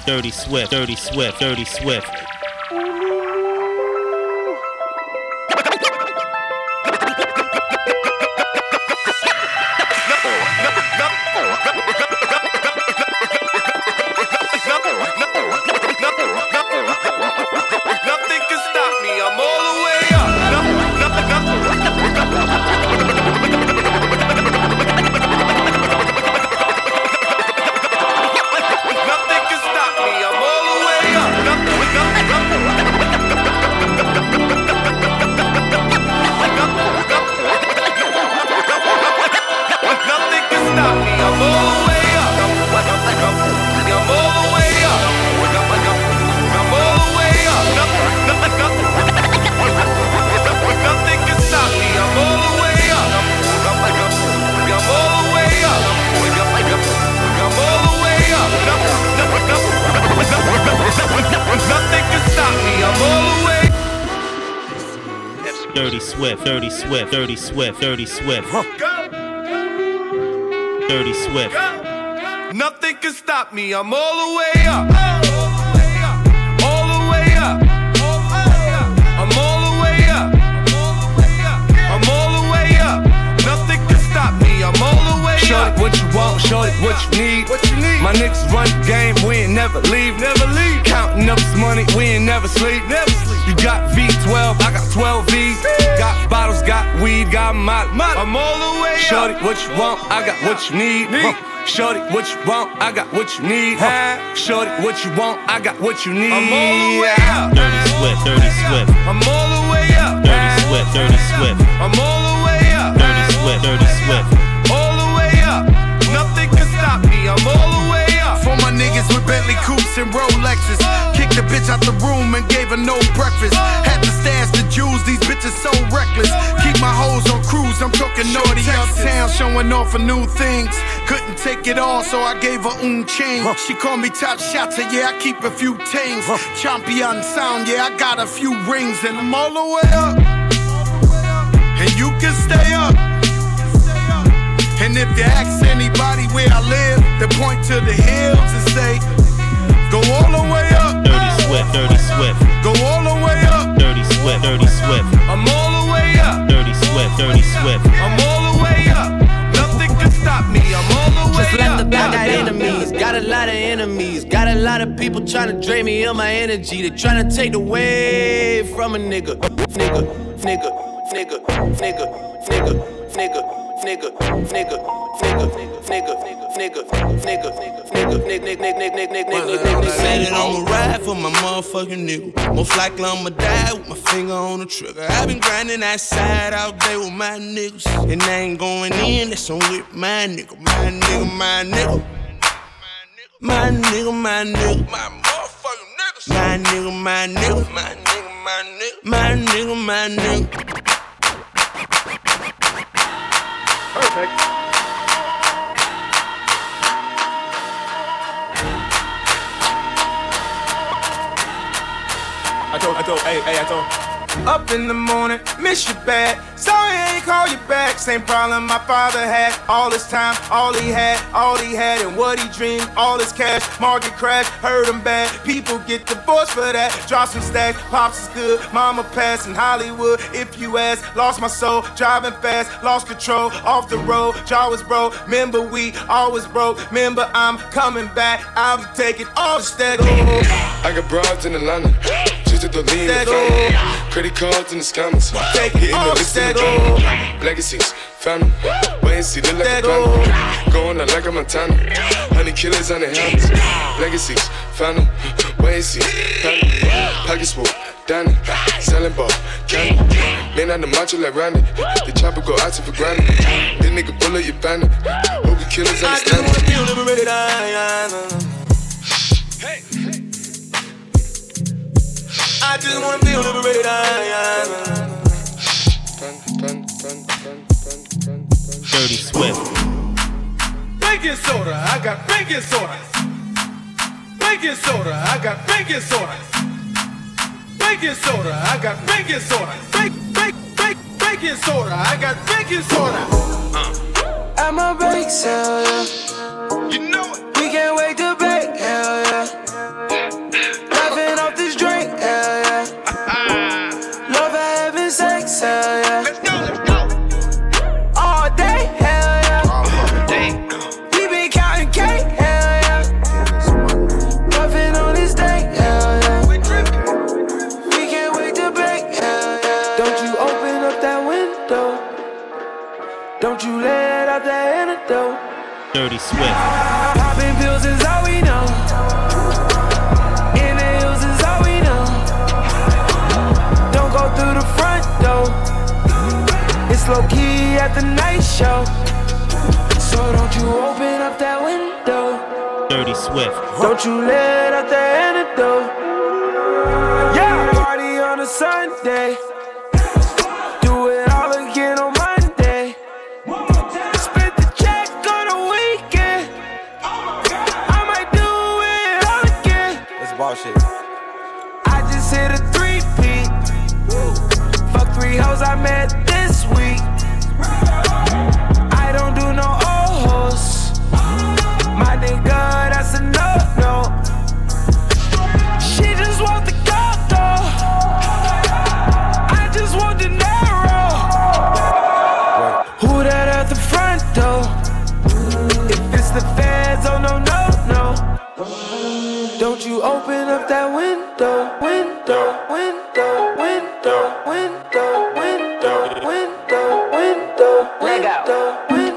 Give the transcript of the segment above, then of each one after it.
Dirty Swift, Dirty Swift, Dirty Swift. Nothing can stop me, I'm all the way up. Nothing can stop me, I'm all the way up. Nothing can stop me, I'm all the way up. I'm all the way up. I'm all the way up. Nothing can stop me. I'm all the way up. I'm all the way up. I'm all the way up. Nothing can stop me. I'm all the way. Dirty Swift, Dirty Swift, Dirty Swift, Dirty Swift. Dirty Swift. Nothing can stop me. I'm all the way up. All the way up. I'm all the way up. I'm all the way up. Nothing can stop me. I'm all the way up. Shorty, what you want? Shorty, what you need? My niggas run the game, we ain't never leave. Counting up this money, we ain't never sleep. You got V12, I got 12 V's. Got bottles, got weed, got molly. I'm all the way up. Shorty, what you want? I got what you need. Shorty, what you want? I got what you need. Shorty, what you want? I got what you need. I'm all the way up. Dirty Swift, Dirty Swift. I'm all the way up. Dirty Swift, Dirty Swift. I'm all the way up. Dirty Swift, Dirty Swift. All the way up. Nothing can stop me. I'm all the way up. For my niggas with Bentley coupes and Rolexes, kicked the bitch out the room and gave her no breakfast. Had to stash the jewels, these bitches so reckless. Keep my hoes on cruise, I'm talking naughty uptown, showing off for new things. Couldn't take it all, so I gave her chain. She called me top shotter, yeah, I keep a few tings. Champion sound, yeah, I got a few rings, and I'm all the way up. And you can stay up. And if you ask anybody where I live, they point to the hills and say, go all the way up. Dirty Swift, Dirty Swift. Go all the way up. Dirty Swift, Dirty Swift. I'm all the way up. Dirty Swift, Dirty Swift. I'm all the way up. Nothing can stop me. I'm all the way Just left up. the I got enemies, got a lot of enemies. Got a lot of people trying to drain me of my energy. They trying to take away from a nigga. Nigga, nigga, nigga, nigga, nigga, nigga. Nigga, nigga, nigga, nigga, nigga, nigga, nigga. Said that I'ma ride for my motherfucking nigga. Most likely I'ma die with my finger on the trigger. I been grinding that side out there with my niggas, and I ain't going in, that's on with my nigga, my nigga, my nigga. My nigga, my nigga, my motherfucking niggas. My nigga, my nigga, my nigga, my nigga, my nigga, my nigga. Perfect. I told. Up in the morning, miss you bad. Sorry I ain't call you back. Same problem my father had. All his time, all he had, and what he dreamed, all his cash. Market crash, hurt him bad. People get divorced for that. Drop some stacks, pops is good. Mama passed in Hollywood. If you ask, lost my soul. Driving fast, lost control. Off the road, jaw was broke. Remember we always broke. Remember I'm coming back. I'll be taking all the stack. I got broads in Atlanta. Just to the lean and family. Credit cards in the scammers. Hitting the list in the drama. Legacies, family. Wait and see, look like a panda. Going out like a Montana. 100 killers on the helmets. Legacies, family. Wait and see, family. Pockets full, Danny. Selling ball, candy. Man on the macho like Randy. The chopper go out to for granted. This nigga bullet, you bandit. Hope you killers understand it. I just wanna feel liberated. Dirty Swift. Baking soda, I got baking soda. Baking soda, I got baking soda. Baking soda, I got baking soda. Baking soda, I got baking soda. I'm a bake sale, yeah. You know it. We can't wait to bake, hell yeah. Dirty Swift. Popping pills is all we know. In the hills is all we know. Don't go through the front door. It's low key at the night show. So don't you open up that window. Dirty Swift. Don't you let out the antidote. Yeah, party on a Sunday. Do it all again on Monday. Spend the check on a weekend. I might do it all again. That's bullshit. I just hit a 3-peat. Fuck 3 hoes I met this week. I don't do no old hoes. My nigga, that's a no-no. She just want the condo. I just want the narrow. Who that at the front door? If it's the feds, oh no, no, no. Don't you open up that window, window, window, window, window, window, window, window, window,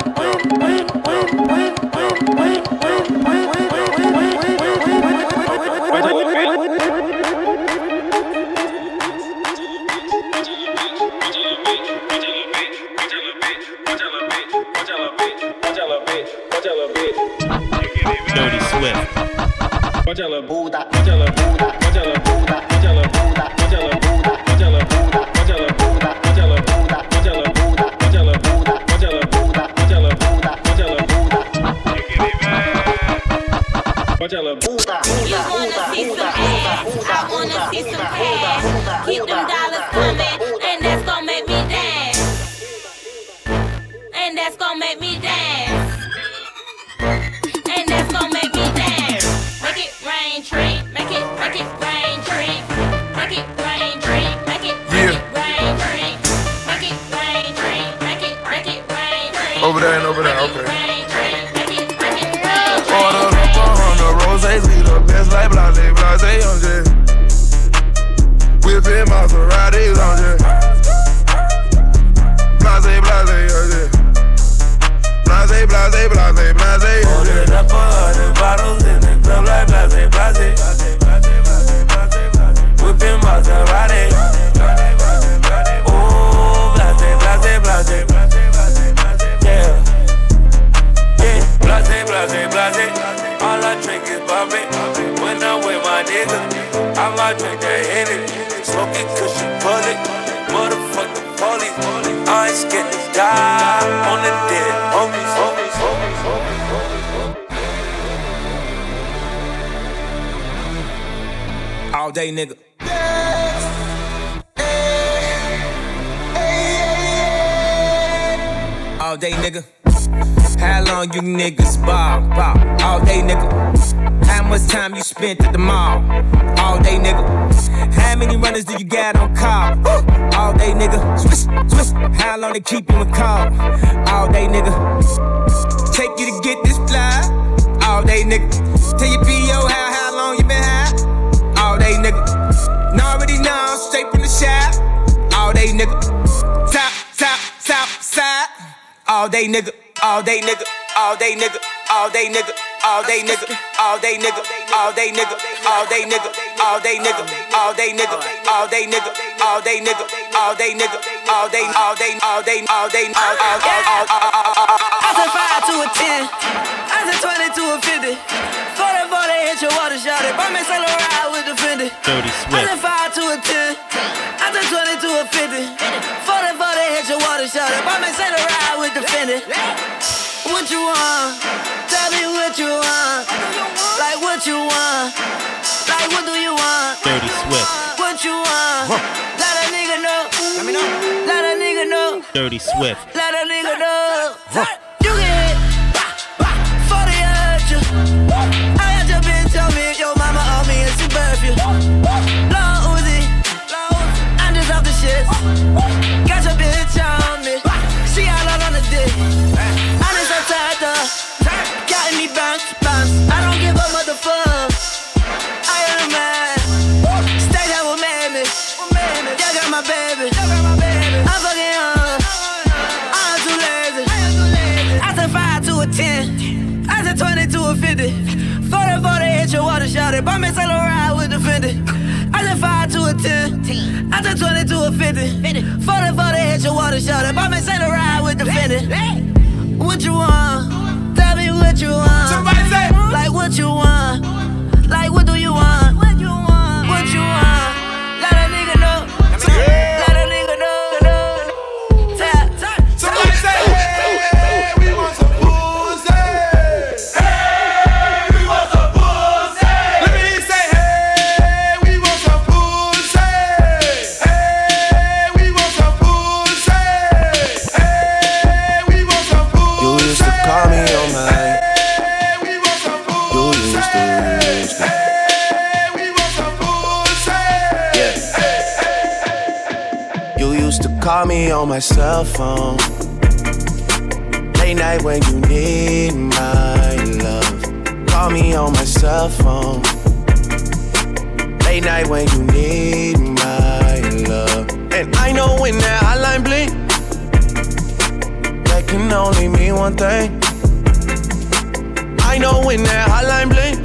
Dirty Swift. I wanna see some cash. Keep them dollars coming, and that's gon' make me dance. And that's gon' make me dance. And that's gon' make me dance. Make it rain, tree. Make it rain, tree. Make it rain, tree. Make it rain, tree. Make it rain, tree. Make it rain, tree. Over there and over there, okay. Order the 400 roses, we the best like blase, blase, on jet. Whipping Maseratis on jet. Blase, blase, on jet. Blase, blase, blase, blase, on jet. Ordered up 100 bottles in the club like blase, blase. Whipping Maserati. Oh, blase, blase, blase. Yeah. Yeah, blase, blase, blase. All I drink is Bobby. When I'm with my nigga, I might drink that Henny. Smoking cushion bullet. Motherfucking police. I ain't scared to die on the dead homies. All day, nigga. All day, nigga. How long you niggas ball? All day, nigga. How much time you spent at the mall? All day, nigga. How many runners do you got on call? All day, nigga. Swish, swish. How long they keep you in call? All day, nigga. Take you to get this fly? All day, nigga. Tell your P.O. how long you been high? All day, nigga. Already know, straight from the shop. All day, nigga. Top, side. All day, nigga. All day, nigga. All day, nigga. All day, nigga. All day, nigga. All day, nigga. All day, nigga. All day, nigga. All day, nigga. All day, nigga. All day, nigga. All day, nigga. All day, nigga. All day, all day, all day, all day, all I said 5 to a 10. I said 20 to a 50. 40 hit your water shot it. Buy me Saint Laurent with the Fendi. Dirty I Swift. said 5 to a 10. I said 20 to a 50. 40 hit your water shot it. Buy me Saint Laurent with the Fendi. What you want? Tell me what you want. Like what you want. Like what do you want? Dirty Swift. What you want? Let a nigga know. Let me know. Let a nigga know. Dirty Swift. Let a nigga know. You get hit 40 at you. I got your bitch on me. Your mama on me and she birth you. Lil Uzi. I'm just off the shit. Got your bitch on me. She all out on the dick. I'm just upside down. Got me bounce. I don't give a motherfuck. I am a man. Stay there with me. You got my baby. I'm fucking young. I'm too lazy. I said 5 a 50. 40 hit your water shot it. Bought me Saint Laurent with the Fendi. I just 5 to a 10. I just 20 to a 50. 40 hit your water shot it. Bought me Saint Laurent with the Fendi. What you want? Tell me what you want. Somebody say, like what you want. Like what do you want? What you want? What you want? Let a nigga know. Let a nigga know. Tap. somebody say, hey, we want some pussy. Hey, we want some pussy. Let me hear you say, hey, we want some pussy. Hey, we want some pussy. Hey, we want some pussy. You used to call me on my. Hey, we want some pussy. You used to. Hey, we want some pussy. Yeah. You used to call me on my cell phone. Late night when you need my love. Call me on my cell phone. Late night when you need my love. And I know when that hotline blink, that can only mean one thing. I know when that hotline blink,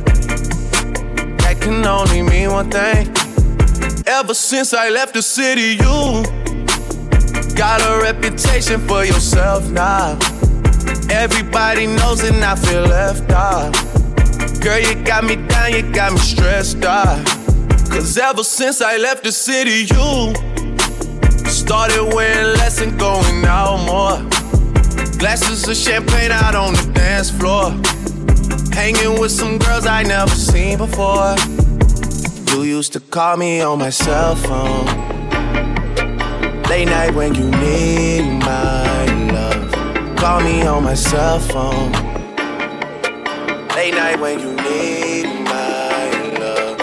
that can only mean one thing. Ever since I left the city, you got a reputation for yourself now. Everybody knows and I feel left out. Girl, you got me down, you got me stressed out. Cause ever since I left the city, you started wearing less and going out more. Glasses of champagne out on the dance floor. Hanging with some girls I never seen before. You used to call me on my cell phone. Late night when you need my love. Call me on my cell phone. Late night when you need my love.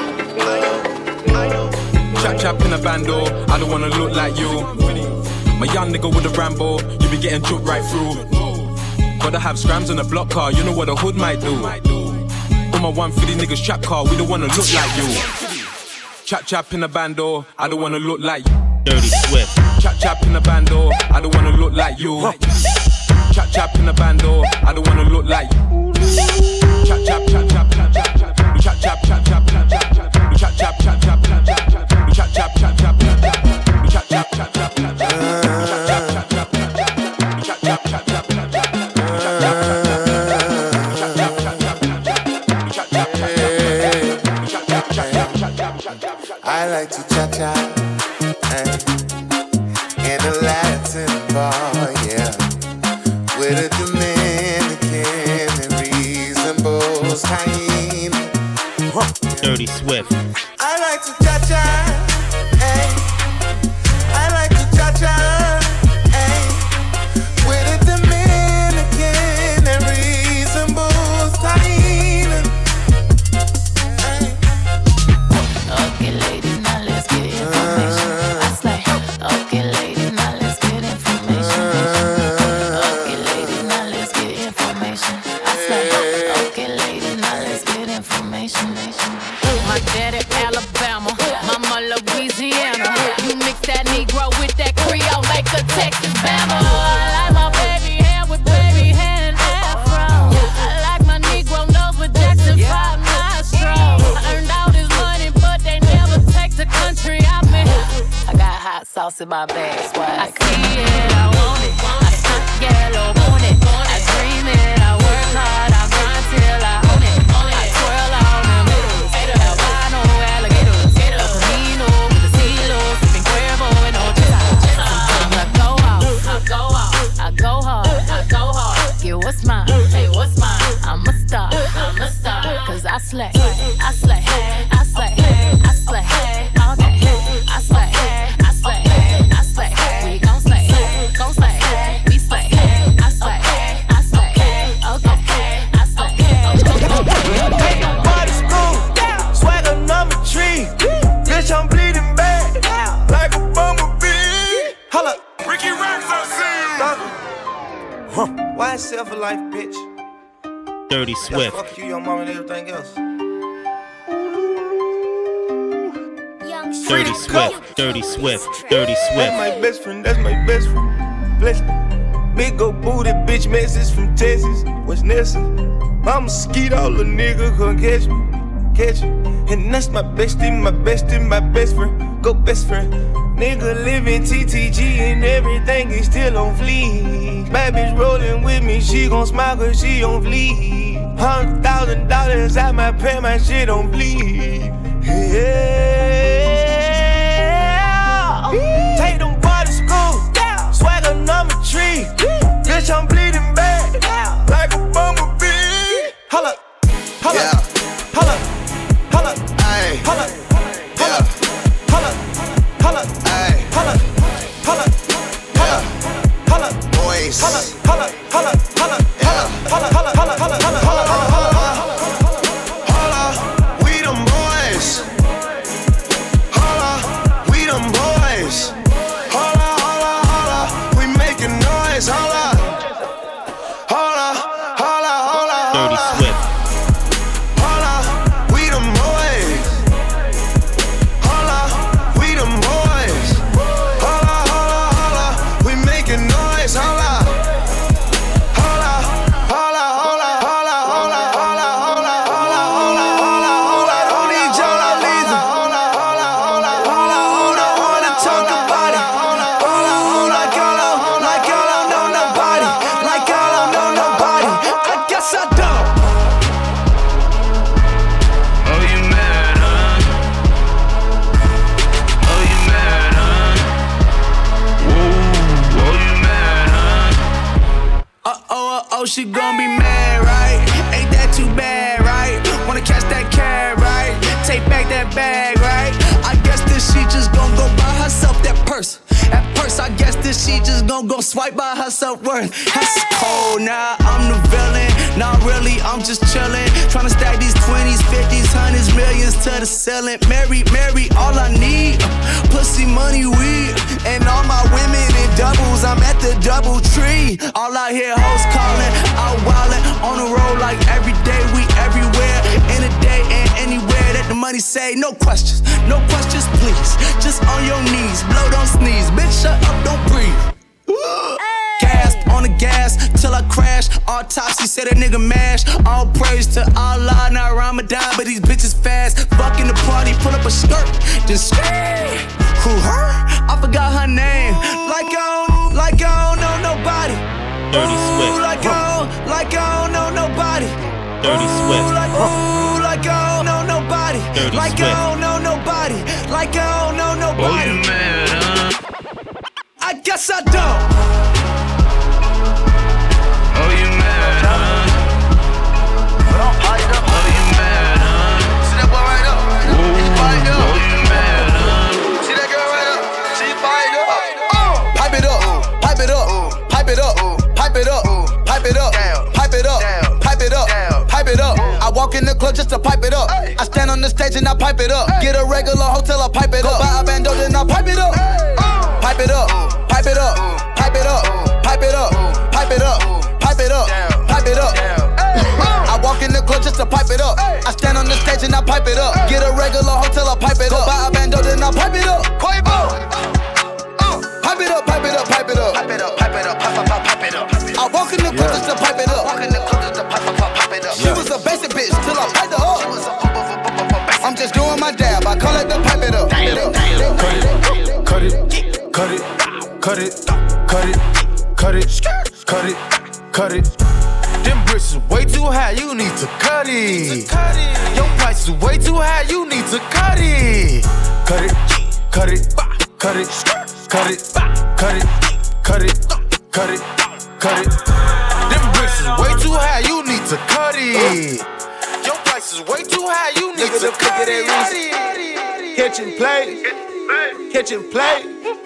Chap in a bando, I don't wanna look like you. My young nigga with a Rambo, you be getting choked right through. Gotta have scrams in a block car, you know what a hood might do. On my 150 niggas trap car, we don't wanna look like you. Chap in a bando, I don't wanna look like you. Dirty Swift. Chap in a bando, I don't wanna look like you. Chap in a bando, I don't wanna look like you. Chap. I like to cha-cha in a Latin bar, yeah, with a Dominican and reasonable hyena. Dirty Swift. I like to cha-cha, I like to cha-cha, with a Dominican and reasonable hyena. Okay, ladies, now let's get information. I slay. Okay, ladies, now let's get information. Okay, ladies, now let's get information. I slay. Okay, ladies, now let's get information. My daddy Alabama, mama Louisiana. You mix that Negro with that Creole, make a Texas Bama. I like my baby hair with baby hair and afro. I like my Negro nose with Jackson 5 nostrils. I earned all this money, but they never take the country out me. I got hot sauce in my bag, swag. I see it, I want it. I stunt yellow, want it. I dream it, I work hard, I grind till I own it. I twirl on them hitters, albino alligators, El Camino with the CeeLo, sipping Cuervo and Ochita. I go out, I go hard, get what's mine, hey, what's mine? I'm a star, cause I slay, I slay, I slay, I slay, okay, I slay, I slay, I slay, we gon' slay, we slay, I slay, okay, I slay. Party school, swagger number 3. Bitch, I'm bleeding bad, like a bumblebee. Holla, Ricky Racks, I see you. Why sell for life, bitch? Dirty Yeah, Swift. fuck you, your mom, and everything else. Dirty Swift. Dirty Swift. Dirty That's Swift. my best friend, that's my best friend. Bless me. Big old booty bitch message from Texas, West Nelson. I'm a skeeto, little nigga, come catch me. And that's my bestie, my best friend. Go best friend. Nigga living TTG and everything is still on fleek. Bad bitch rolling with me, she gon' smile cause she on fleek. $100,000 out my pay, my shit on bleed. Yeah. Take them boys to school, swagger number 3. Bitch, I'm bleeding bad, like a bumblebee. Holla, holla, holla, holla, ayy, holla, holla, holla, holla, ayy, holla, holla, holla, holla, boys, holla, holla, holla, holla, holla, holla, holla, holla, holla, holla, holla, holla, we them boys, holla, we them boys, holla, holla, holla, we making noise, holla, holla, holla, holla, Dirty Swift. holla, we them boys, holla, we them boys, holla, holla, holla, we making noise, holla, holla, holla, holla, holla, holla, holla, holla, holla, holla, holla, holla, don't need y'all, I leave them, holla, holla, holla, holla, holla, holla, talk about it, holla, holla, holla, like y'all don't know nobody, like y'all don't know nobody, I guess I don't. Oh, you mad, huh? Oh, you mad, huh? Whoa, oh, you mad, huh? Oh, she gon' be mad, right? Ain't that too bad, right? Wanna catch that cab, right? Take back that bag, right? I guess this she just gon' go buy herself that purse. That purse, I guess this she just gon' go swipe by her self-worth. That's cold, nah, I'm the villain. Nah, really, I'm just chillin'. Tryna stack these 20s, 50s, 100s, millions to the ceiling. Mary, all I need, pussy, money, weed. And all my women in doubles, I'm at the double tree. All I hear hoes calling, out wildin', on the road like every day, we everywhere. In a day and anywhere that the money say, no questions, please. Just on your knees, blow, don't sneeze. Bitch, shut up, don't breathe. Gas on the gas till I crash. Autopsy said a nigga mash. All praise to Allah, not Ramadan, but these bitches fast. Fucking the party, pull up a skirt, then scream. Who her? I forgot her name. Like I don't know nobody. Dirty Swift. Like I don't know nobody. Dirty Swift. Like I don't know nobody. Dirty Like I Swift. don't know nobody. Like I don't know Oh, nobody. you mad, huh? I guess I don't. Oh, you mad, huh? Oh, you mad, huh? See that boy right up? He's fired up. Oh, you mad, huh? See that girl right up? She fired up. Pipe it up, pipe it up, pipe it up, pipe it up, pipe it up, pipe it up, pipe it up, pipe it up. I walk in the club just to pipe it up. I stand on the stage and I pipe it up. Get a regular hotel, I pipe it up. Go buy a bando, then I pipe it up. Pipe it up, pipe it up, pipe it up, pipe it up, pipe it up, pipe it up, pipe it up. I walk in the club just to pipe it up. I stand on the stage and I pipe it up. Get a regular hotel, I pipe it up. Go buy a bando, then I pipe it up. Pipe up. Pipe it up, pipe it up, pipe it up. Pipe it up, pipe it up, pipe it up. I walk in the club just to pipe it up. Walk in the club just to pipe it up. She was a basic bitch till I piped her up. I'm just doing my dab, I call it the pipe it up. Cut it, cut it, cut it, cut it, cut it, cut it, cut it. Them bricks is way too high, you need to cut it. Your price is way too high, you need to cut it. Cut it, cut it, cut it, cut it, cut it, cut it, cut it, cut it. Them bricks is way too high, you need to cut it. Your price is way too high, you need to cut it. Catch and play, catch and play.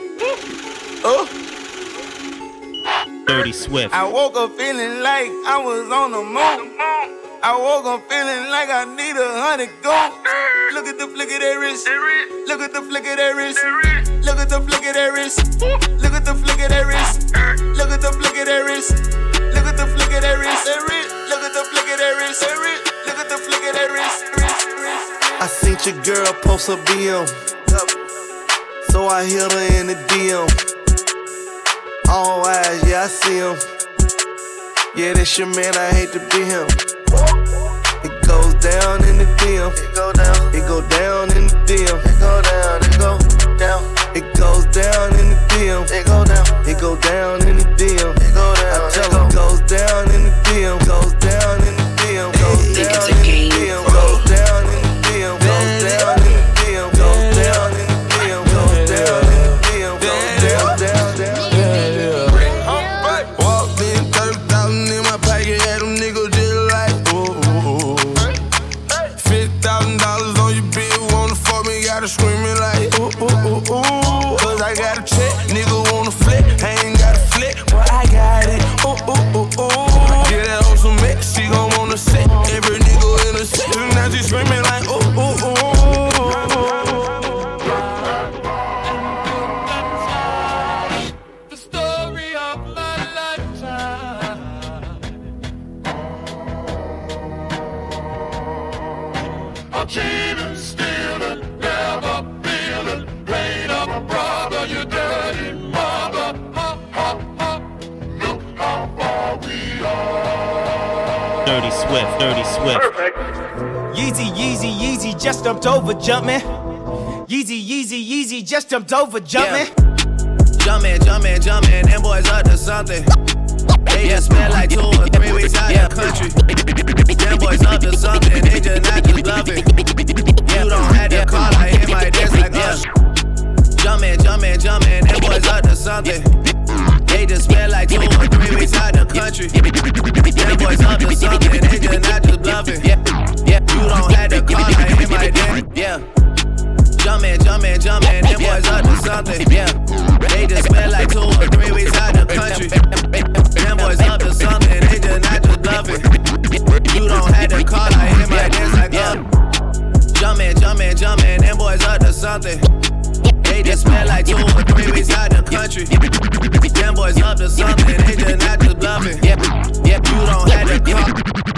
Dirty Swift. I woke up feeling like I was on the moon. I woke up feeling like I need 100 gold. Look at the flick of that wrist. Look at the flick of that wrist. Look at the flick of that wrist. Look at the flick of that wrist. Look at the flick of that wrist. Look at the flick of that wrist. Look at the flick of that wrist. Look at the flick of that wrist. I seen your girl post her BM, so I hit her in the DM. All eyes, yeah, I see him. Yeah, that's your man, I hate to be him. down in the DM. It go down. It go down in the DM. It go down. It go down. It goes down in the DM. It go down. It go down in the DM. It go down. I tell it goes down in the DM. Goes down in the DM. Goes down in the DM. Goes down in the DM. Goes down in the DM. Goes down in the DM. Goes down in the DM. Goes down, down, down. Walked in, 30,000 in my pocket, had them niggas just like, ooh. $50,000 on your bill, wanna fuck me, gotta screaming like, ooh. Cause I got a check, nigga wanna flip, I ain't got a flip, but I got it, ooh. Get that on some mix, she gon' wanna sit, every nigga in the shit, now she screaming like, ooh. Cheating, stealing, never feeling, playing up a brother, you dirty mother. Look how far we are. Dirty Swift, Dirty Swift. Perfect. Yeezy, just jumped over jumping. Yeezy, just jumped over jumping. Jumping, them boys up to something. They just spent like 2 or 3 weeks out the country. Them boys up to something, they just not just bluffing. You don't have to call, I hear my dance like us. Jumping, them boys up to something. They just spent like 2 or 3 weeks out the country. Them boys up to something, they just not just bluffing. You don't have to call, I hear my dance. Jumping, them boys up to something. They just spent like 2 or 3 weeks out the country. Them boys up to something, they just not just bluffing. You don't have to call, I hear my dance like Jumping, them boys up to something. They just spent like 2 or 3 weeks out the country. Them boys up to something, they just not just bluffing. You don't have to call.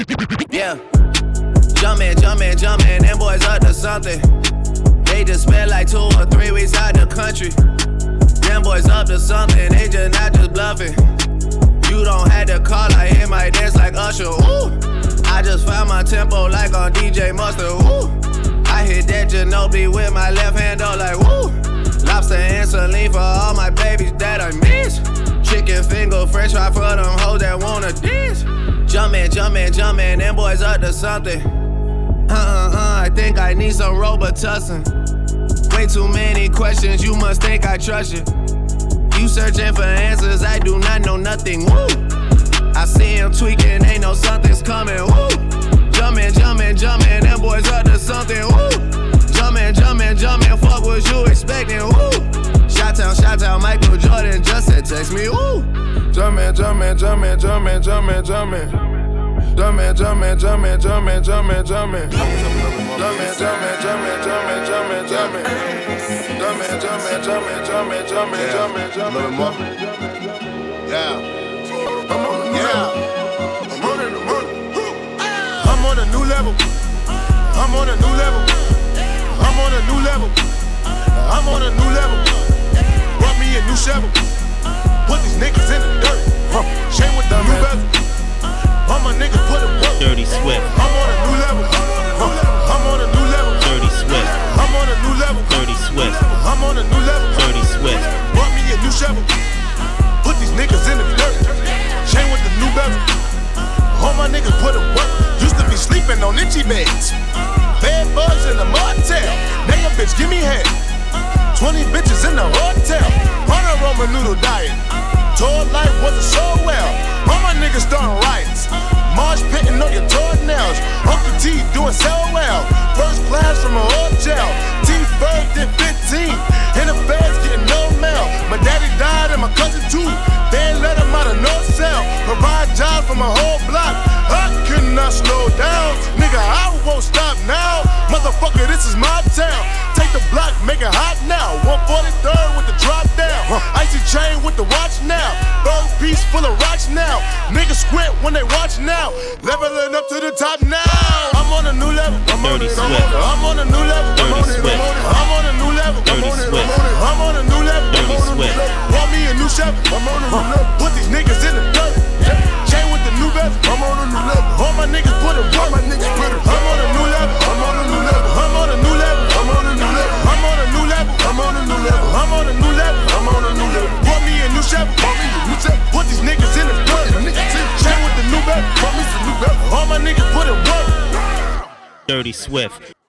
Jumping, them boys up to something. They just spent like 2 or 3 weeks out the country. Them boys up to something, they just not just bluffing. You don't have to call, I hear my dance like Usher, ooh. I just found my tempo like on DJ Mustard, ooh. I hit that Ginobili with my left hand, though, like, woo. Lobster and saline for all my babies that I miss. Chicken finger, french fry for them hoes that wanna dance. Jumping, them boys up to something. I think I need some Robitussin. Way too many questions, you must think I trust you. You searching for answers, I do not know nothing, woo. I see him tweaking, ain't no something's coming, woo. Jumping, them boys up to something, woo. Jumping, fuck what you expecting, woo. Shout-out, Michael Jordan just said text me, woo. Jumping. Jumping. A little more. Yeah. I'm on a new level. I'm on a new level. Brought me a new shovel. Put these niggas in the dirt. Chain with the new bezel. All my niggas put it work. Dirty Swift. I'm on a new level. I'm on a new level. Dirty Swift. I'm on a new level. Dirty Swift. I'm on a new level. Dirty Swift. Brought me a new shovel. Put these niggas in the dirt. Chain with the new bezel. All my niggas put it work. Used to be sleeping on itchy beds. Bad bugs in the motel. Now your bitch give me head. 20 bitches in the hotel. On a Roman noodle diet. Tour life wasn't so well. All my niggas starting riots. Marsh pitting on your toenails. Uncle T doing so well. First class from a hotel. T-Ferg did 15. In the feds getting no mail. My daddy died and my cousin too. They ain't let him out of no cell. Provide jobs for my whole block. I could not slow down. Nigga, I won't stop now. Motherfucker, this is my town. Take the block, make it hot now. 143rd with the drop down. Icy chain with the watch now. Third piece full of rocks now. Niggas squint when they watch now. Leveling up to the top now. I'm on a new level. I'm on a new level. I'm on a new level. I'm on a new level. I'm on a new level. Brought me a new Chevy. I'm on a new level. Put these niggas in the dirt. Chain with the new bezel. I'm on a new level. All my niggas put it work. I'm on a new level. Dirty Swift.